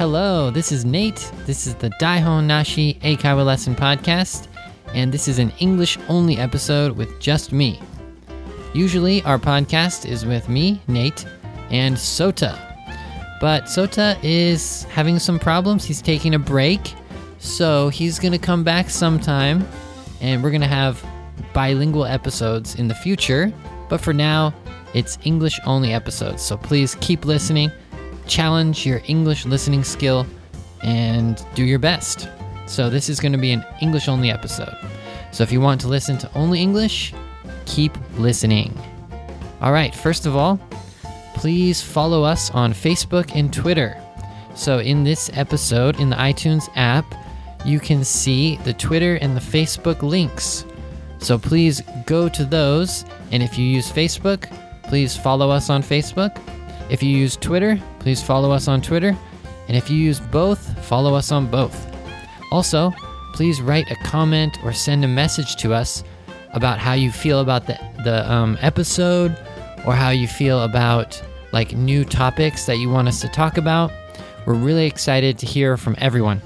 Hello, this is Nate. This is the Daihon Nashi Eikaiwa Lesson Podcast, and this is an English-only episode with just me. Usually, our podcast is with me, Nate, and Sota. But Sota is having some problems. He's taking a break, so he's going to come back sometime, and we're going to have bilingual episodes in the future. But for now, it's English-only episodes, so please keep listening. Challenge your English listening skill and do your best. So this is going to be an English-only episode. So if you want to listen to only English, keep listening. All right, first of all, please follow us on Facebook and Twitter. So in this episode, in the iTunes app, you can see the Twitter and the Facebook links. So please go to those, and if you use Facebook, please follow us on Facebook. If you use Twitter, please follow us on Twitter. And if you use both, follow us on both. Also, please write a comment or send a message to us about how you feel about the episode, or how you feel about like new topics that you want us to talk about. We're really excited to hear from everyone.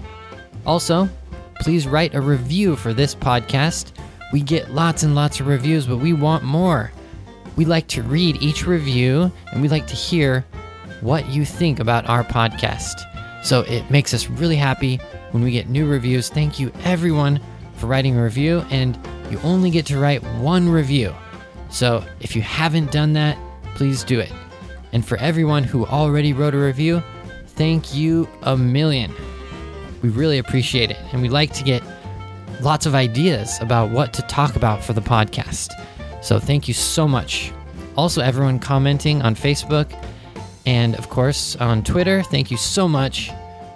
Also, please write a review for this podcast. We get lots and lots of reviews, but we want more. We like to read each review, and we like to hear what you think about our podcast. So it makes us really happy when we get new reviews. Thank you, everyone, for writing a review, and you only get to write one review. So if you haven't done that, please do it. And for everyone who already wrote a review, thank you a million. We really appreciate it, and we like to get lots of ideas about what to talk about for the podcast. So thank you so much. Also, everyone commenting on Facebook and, of course, on Twitter, thank you so much.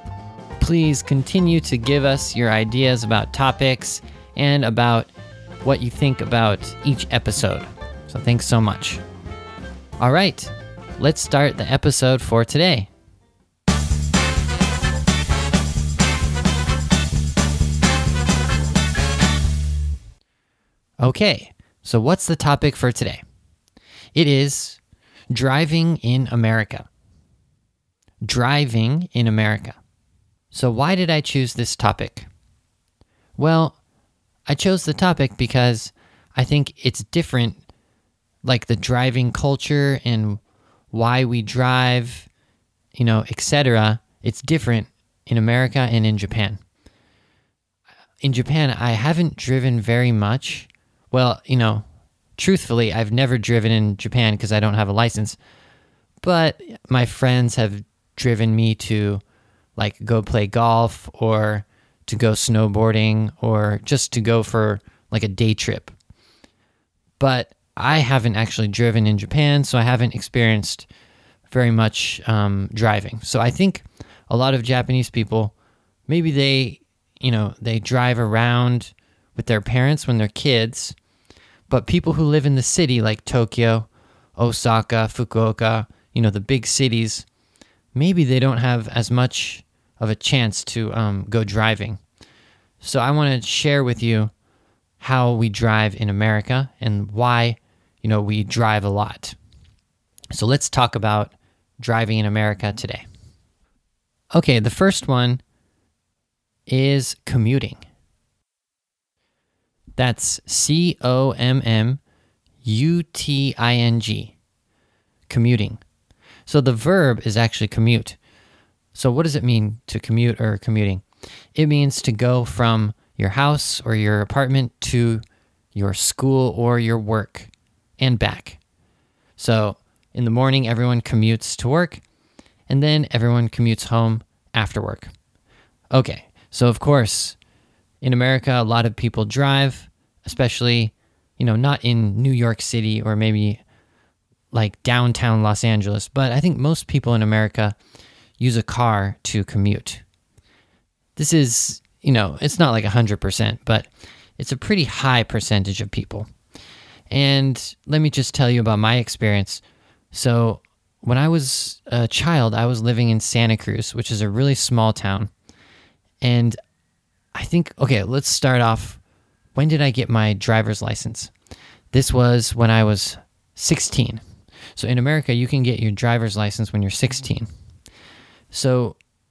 Please continue to give us your ideas about topics and about what you think about each episode. So thanks so much. All right, let's start the episode for today. Okay. So what's the topic for today? It is driving in America. Driving in America. So why did I choose this topic? Well, I chose the topic because I think it's different, like the driving culture and why we drive, etc. It's different in America and in Japan. In Japan, I haven't driven very much. Well, truthfully, I've never driven in Japan because I don't have a license. But my friends have driven me to, go play golf or to go snowboarding or just to go for, a day trip. But I haven't actually driven in Japan, so I haven't experienced very much driving. So I think a lot of Japanese people, maybe they drive around with their parents when they're kids. But people who live in the city, like Tokyo, Osaka, Fukuoka, the big cities, maybe they don't have as much of a chance to go driving. So I want to share with you how we drive in America and why, we drive a lot. So let's talk about driving in America today. Okay, the first one is commuting. That's commuting, commuting. So the verb is actually commute. So what does it mean to commute or commuting? It means to go from your house or your apartment to your school or your work and back. So in the morning, everyone commutes to work, and then everyone commutes home after work. Okay, so of course, in America, a lot of people drive, especially, not in New York City or maybe like downtown Los Angeles, but I think most people in America use a car to commute. This is, it's not like 100%, but it's a pretty high percentage of people. And let me just tell you about my experience. So when I was a child, I was living in Santa Cruz, which is a really small town. And I think, okay, let's start off. When did I get my driver's license? This was when I was 16. So in America, you can get your driver's license when you're 16. So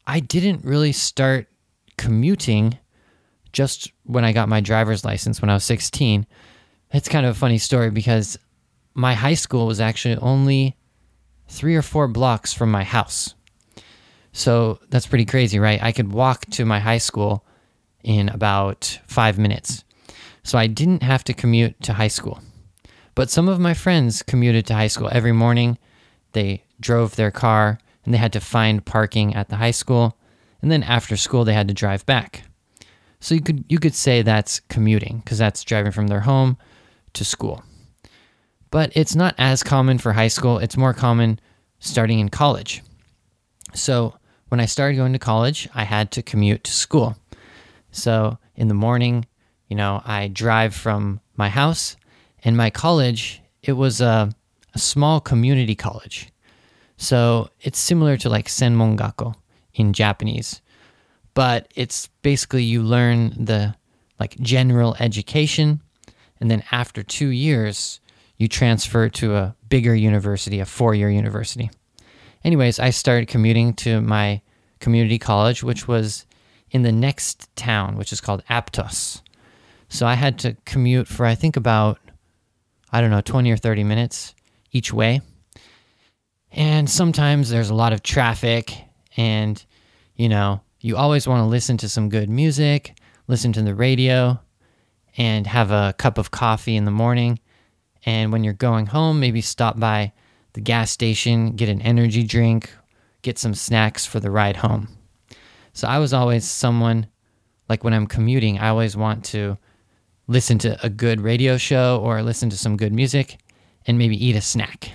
I didn't really start commuting just when I got my driver's license when I was 16. It's kind of a funny story because my high school was actually only 3 or 4 blocks from my house. So that's pretty crazy, right? I could walk to my high school in about 5 minutes. So I didn't have to commute to high school. But some of my friends commuted to high school every morning. They drove their car and they had to find parking at the high school. And then after school, they had to drive back. So you could say that's commuting because that's driving from their home to school. But it's not as common for high school. It's more common starting in college. So when I started going to college, I had to commute to school. So in the morning, I drive from my house, and my college, it was a small community college. So it's similar to like Senmongako in Japanese. But it's basically you learn the like general education, and then after 2 years, you transfer to a bigger university, a 4-year university. Anyways, I started commuting to my community college, which was in the next town, which is called Aptos. So I had to commute for, I think, about, 20 or 30 minutes each way. And sometimes there's a lot of traffic, and, you always want to listen to some good music, listen to the radio, and have a cup of coffee in the morning. And when you're going home, maybe stop by the gas station, get an energy drink, get some snacks for the ride home. So I was always someone, like when I'm commuting, I always want to listen to a good radio show or listen to some good music and maybe eat a snack.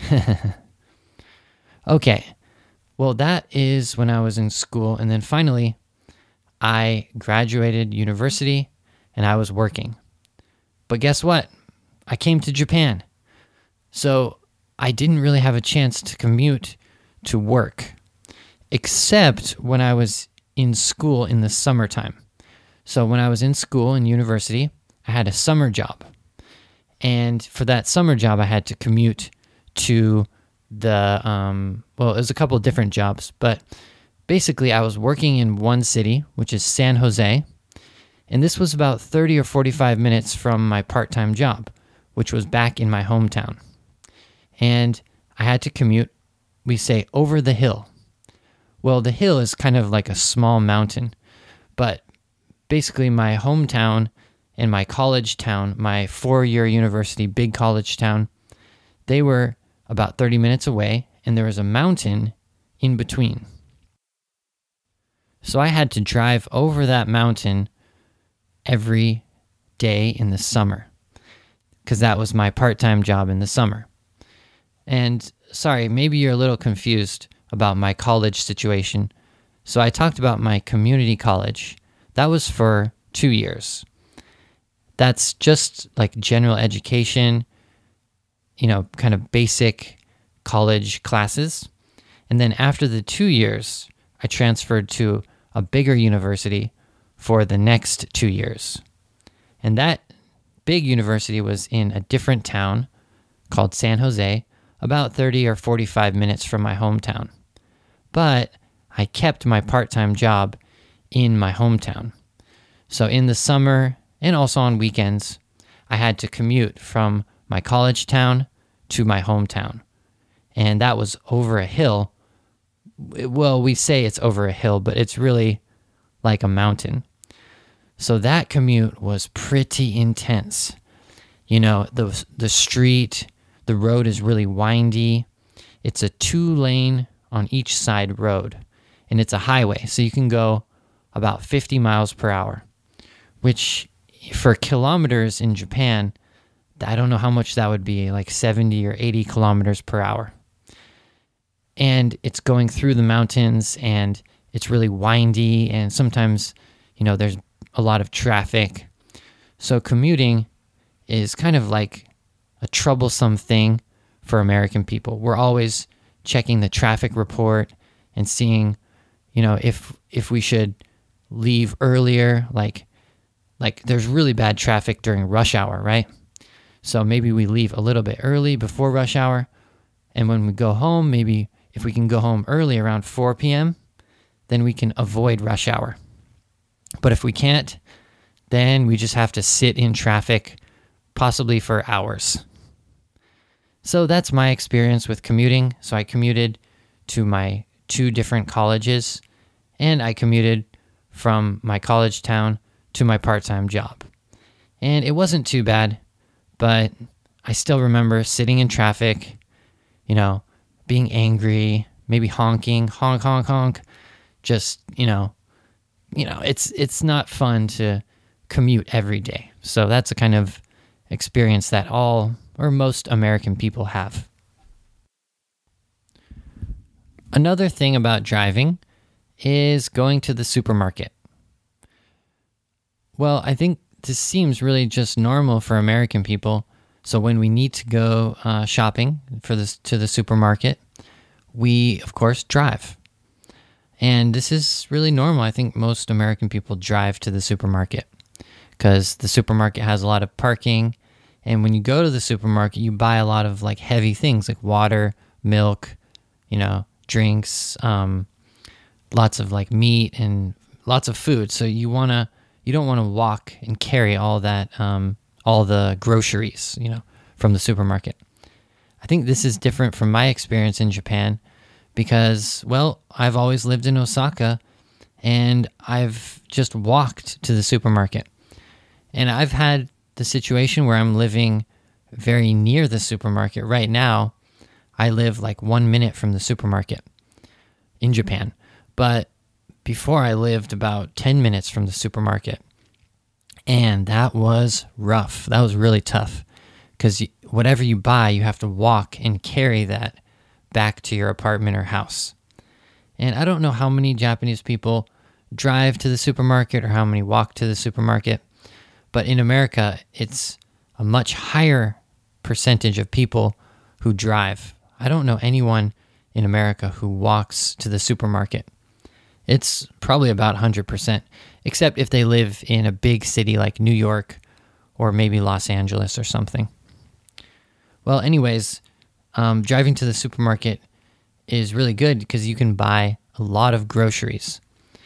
Okay, well, that is when I was in school. And then finally, I graduated university and I was working. But guess what? I came to Japan. So I didn't really have a chance to commute to work, except when I was in school in the summertime. So when I was in school in university, I had a summer job. And for that summer job, I had to commute to it was a couple of different jobs, but basically I was working in one city, which is San Jose, and this was about 30 or 45 minutes from my part-time job, which was back in my hometown. And I had to commute, we say, over the hill. Well, the hill is kind of like a small mountain, but basically my hometown and my college town, my 4-year university, big college town, they were about 30 minutes away, and there was a mountain in between. So I had to drive over that mountain every day in the summer, because that was my part-time job in the summer. And sorry, maybe you're a little confused about my college situation. So I talked about my community college. That was for 2 years. That's just like general education, kind of basic college classes. And then after the 2 years, I transferred to a bigger university for the next 2 years. And that big university was in a different town called San Jose, about 30 or 45 minutes from my hometown. But I kept my part-time job in my hometown. So in the summer and also on weekends, I had to commute from my college town to my hometown. And that was over a hill. Well, we say it's over a hill, but it's really like a mountain. So that commute was pretty intense. The street, the road is really windy. It's a 2-lane on each side road, and it's a highway. So you can go about 50 miles per hour, which for kilometers in Japan, I don't know how much that would be, like 70 or 80 kilometers per hour. And it's going through the mountains, and it's really windy, and sometimes, there's a lot of traffic. So commuting is kind of like a troublesome thing for American people. We're always checking the traffic report and seeing, if we should leave earlier, like there's really bad traffic during rush hour, right? So maybe we leave a little bit early before rush hour, and when we go home, maybe if we can go home early around 4 p.m., then we can avoid rush hour. But if we can't, then we just have to sit in traffic, possibly for hours. So that's my experience with commuting. So I commuted to my 2 different colleges, and I commuted from my college town to my part-time job. And it wasn't too bad, but I still remember sitting in traffic, being angry, maybe honking, honk, honk, honk. Just, it's not fun to commute every day. So that's a kind of experience that all or most American people have. Another thing about driving is going to the supermarket. Well, I think this seems really just normal for American people. So when we need to go shopping to the supermarket, we, of course, drive. And this is really normal. I think most American people drive to the supermarket because the supermarket has a lot of parking. And when you go to the supermarket, you buy a lot of like heavy things like water, milk, drinks, lots of like meat and lots of food. So you don't want to walk and carry all that, all the groceries, from the supermarket. I think this is different from my experience in Japan because, well, I've always lived in Osaka and I've just walked to the supermarket. And I've had the situation where I'm living very near the supermarket. Right now, I live like 1 minute from the supermarket in Japan. But before I lived about 10 minutes from the supermarket. And that was rough. That was really tough because whatever you buy, you have to walk and carry that back to your apartment or house. And I don't know how many Japanese people drive to the supermarket or how many walk to the supermarket, but in America, it's a much higher percentage of people who drive. I don't know anyone in America who walks to the supermarket. It's probably about 100%, except if they live in a big city like New York or maybe Los Angeles or something. Well, anyways, driving to the supermarket is really good because you can buy a lot of groceries.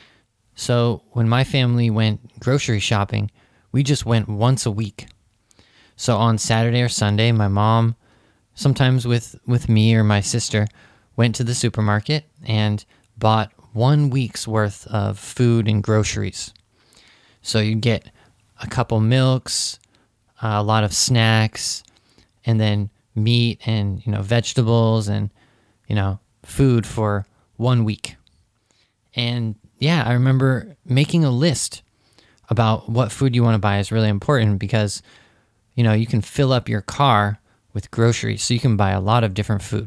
So when my family went grocery shopping, we just went once a week. So on Saturday or Sunday, my mom, sometimes with me or my sister, went to the supermarket and bought 1 week's worth of food and groceries. So you get a couple milks, a lot of snacks, and then meat and vegetables and food for 1 week. And yeah, I remember making a list about what food you want to buy is really important because you can fill up your car with groceries, so you can buy a lot of different food.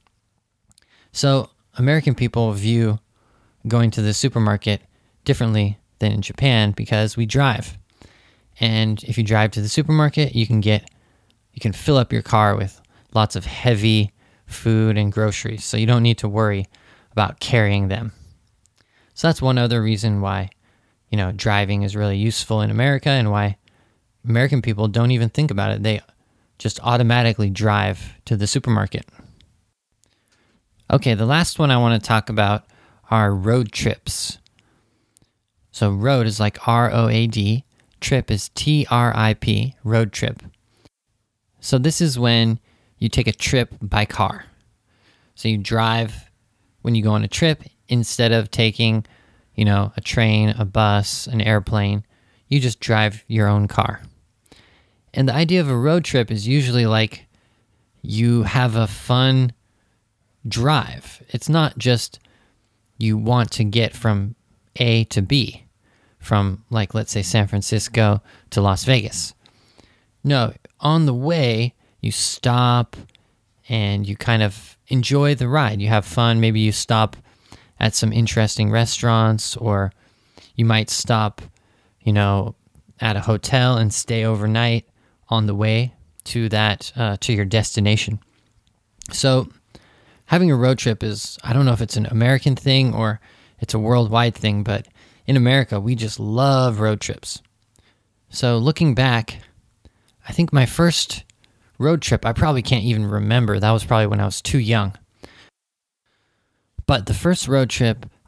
So American people view going to the supermarket differently than in Japan because we drive. And if you drive to the supermarket, you can fill up your car with lots of heavy food and groceries, so you don't need to worry about carrying them. So that's one other reason why, driving is really useful in America and why American people don't even think about it. They just automatically drive to the supermarket. Okay, the last one I want to talk about are road trips. So road is like R-O-A-D, trip is T-R-I-P, road trip. So this is when you take a trip by car. So you drive when you go on a trip instead of taking, a train, a bus, an airplane. You just drive your own car. And the idea of a road trip is usually like you have a fun drive. It's not just you want to get from A to B, from like, let's say San Francisco to Las Vegas. No, on the way, you stop and you kind of enjoy the ride. You have fun. Maybe you stop at some interesting restaurants, or you might stop, at a hotel and stay overnight on the way to to your destination. So having a road trip is, I don't know if it's an American thing or it's a worldwide thing, but in America, we just love road trips. So looking back, I think my first road trip, I probably can't even remember. That was probably when I was too young. But the first road trip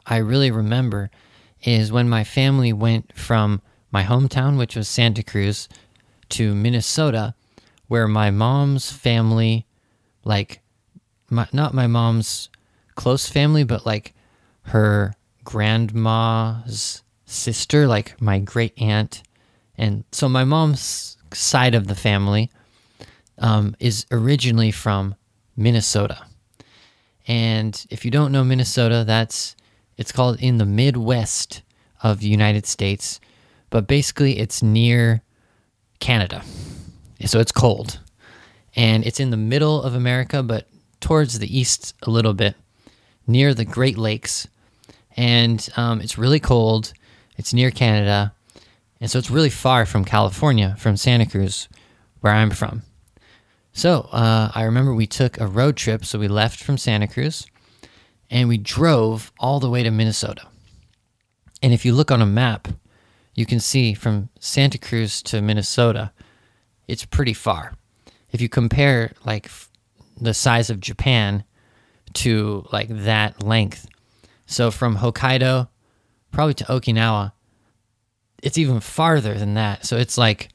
I really remember is when my family went from my hometown, which was Santa Cruz, to Minnesota, where my mom's family, like, not my mom's close family, but like her grandma's sister, like my great aunt. And so my mom's side of the family is originally from Minnesota. And if you don't know Minnesota, it's called in the Midwest of the United States, but basically it's near Canada. So it's cold. And it's in the middle of America, but towards the east a little bit, near the Great Lakes. And it's really cold. It's near Canada. And so it's really far from California, from Santa Cruz, where I'm from. So I remember we took a road trip. So we left from Santa Cruz and we drove all the way to Minnesota. And if you look on a map, you can see from Santa Cruz to Minnesota, it's pretty far. If you compare like the size of Japan to like that length. So from Hokkaido probably to Okinawa, it's even farther than that. So it's like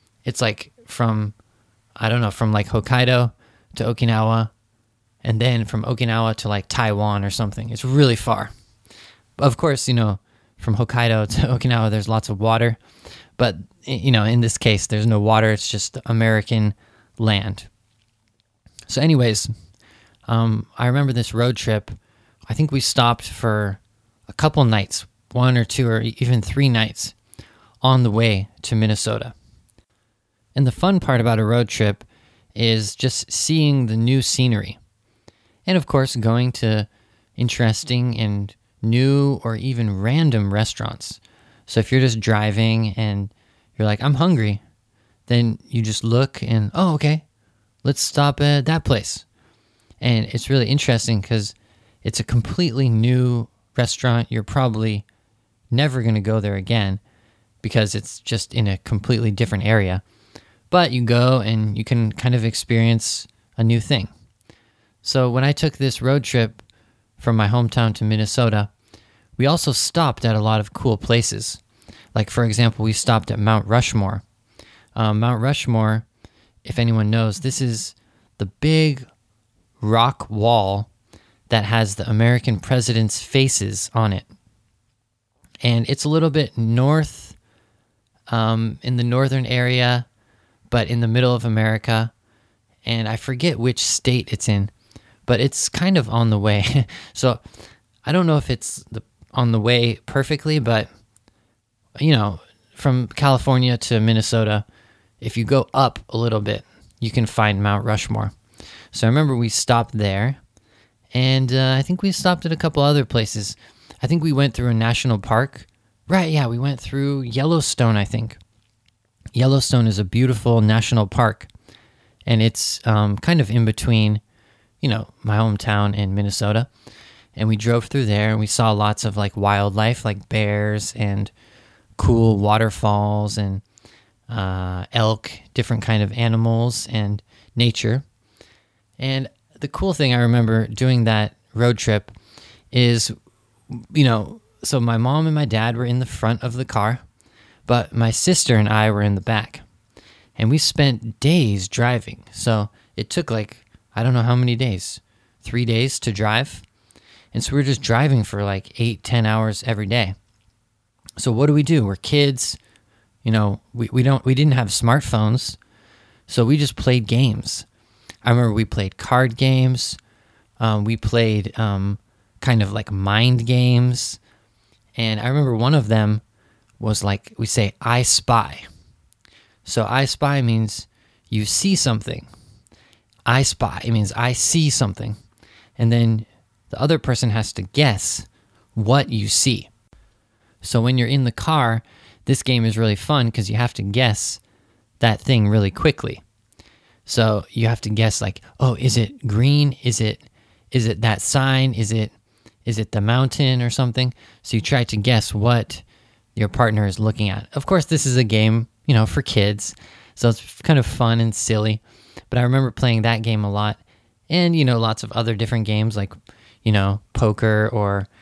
from, I don't know, from like Hokkaido to Okinawa, and then from Okinawa to like Taiwan or something. It's really far. Of course, from Hokkaido to Okinawa, there's lots of water. But, in this case, there's no water. It's just American land. So anyways, I remember this road trip. I think we stopped for a couple nights, 1 or 2 or even 3 nights on the way to Minnesota. And the fun part about a road trip is just seeing the new scenery. And of course, going to interesting and new or even random restaurants. So if you're just driving and you're like, I'm hungry, then you just look and, oh, okay, let's stop at that place. And it's really interesting because it's a completely new restaurant. You're probably never going to go there again because it's just in a completely different area. But you go and you can kind of experience a new thing. So when I took this road trip from my hometown to Minnesota, we also stopped at a lot of cool places. Like, for example, we stopped at Mount Rushmore. Mount Rushmore, if anyone knows, this is the big rock wall that has the American president's faces on it. And it's a little bit north, in the northern area, but in the middle of America. And I forget which state it's in, but it's kind of on the way. So I don't know if it's on the way perfectly, but, from California to Minnesota, if you go up a little bit, you can find Mount Rushmore. So I remember we stopped there, and I think we stopped at a couple other places. I think we went through a national park. Right, yeah, we went through Yellowstone, I think. Yellowstone is a beautiful national park, and it's kind of in between, my hometown and Minnesota. And we drove through there, and we saw lots of like wildlife, like bears and cool waterfalls and elk, different kind of animals and nature. And the cool thing I remember doing that road trip is, so my mom and my dad were in the front of the car, but my sister and I were in the back. And we spent days driving. So it took like, I don't know how many days, 3 days to drive. And so we were just driving for like 8-10 hours every day. So what do? We're kids. We didn't have smartphones. So we just played games. I remember we played card games. We played kind of like mind games. And I remember one of them was like, we say, I spy. So I spy means you see something. I spy, it means I see something. And then the other person has to guess what you see. So when you're in the car, this game is really fun because you have to guess that thing really quickly. So you have to guess like, oh, is it green? Is it that sign? Is it the mountain or something? So you try to guess what your partner is looking at. Of course, this is a game, for kids. So it's kind of fun and silly. But I remember playing that game a lot. And, lots of other different games like, poker or,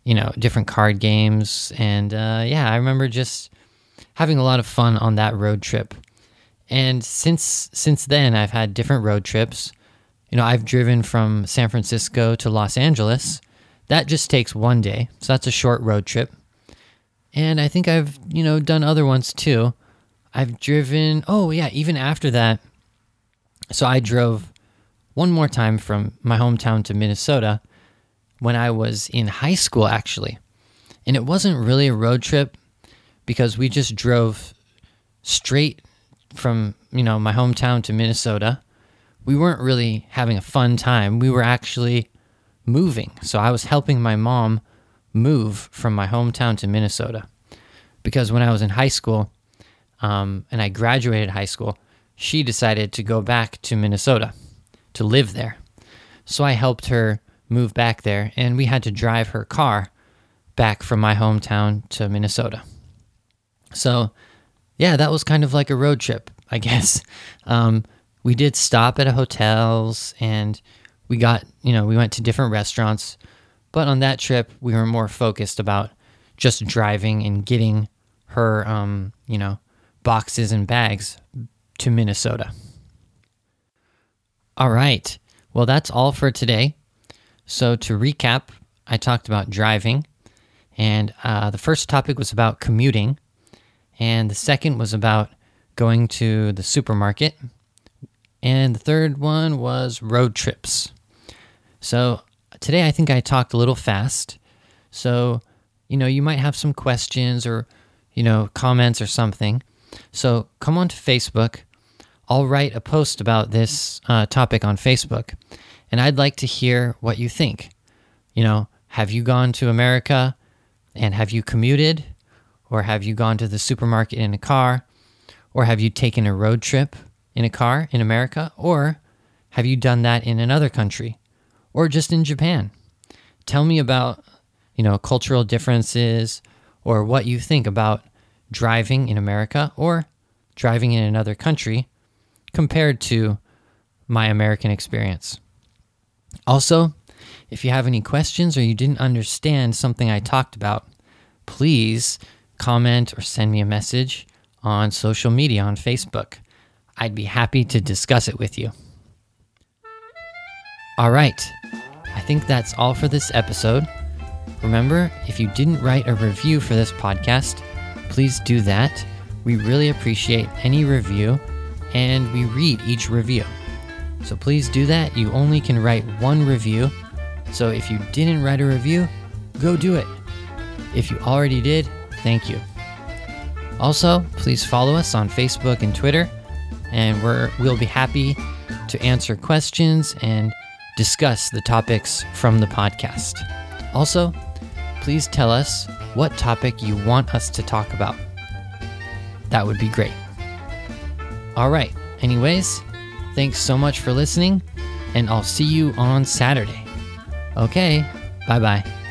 different card games. And I remember just having a lot of fun on that road trip. And since then, I've had different road trips. I've driven from San Francisco to Los Angeles. That just takes one day, so that's a short road trip. And I think I've, done other ones too. I've driven, even after that. So I drove one more time from my hometown to Minnesota when I was in high school, actually. And it wasn't really a road trip because we just drove straight from, my hometown to Minnesota. We weren't really having a fun time. We were actually moving. So I was helping my mom move from my hometown to Minnesota. Because when I was in high school, and I graduated high school, she decided to go back to Minnesota to live there. So I helped her move back there, and we had to drive her car back from my hometown to Minnesota. So, that was kind of like a road trip, I guess. We did stop at hotels, and we went to different restaurants. But on that trip, we were more focused about just driving and getting her, boxes and bags to Minnesota. All right. Well, that's all for today. So to recap, I talked about driving, and the first topic was about commuting, and the second was about going to the supermarket, and the third one was road trips. So today I think I talked a little fast, so you might have some questions or comments or something. So come on to Facebook. I'll write a post about this topic on Facebook, and I'd like to hear what you think. Have you gone to America, and have you commuted, or have you gone to the supermarket in a car, or have you taken a road trip in a car in America, or have you done that in another country, or just in Japan? Tell me about, cultural differences, or what you think about driving in America or driving in another country compared to my American experience. Also, if you have any questions or you didn't understand something I talked about, please comment or send me a message on social media on Facebook. I'd be happy to discuss it with you. All right, I think that's all for this episode. Remember, if you didn't write a review for this podcast, please do that. We really appreciate any review, and we read each review. So please do that. You only can write one review. So if you didn't write a review, go do it. If you already did, thank you. Also, please follow us on Facebook and Twitter, and we'll be happy to answer questions and discuss the topics from the podcast. Also, please tell us what topic you want us to talk about. That would be great. All right. Anyways, thanks so much for listening, and I'll see you on Saturday. Okay. Bye-bye.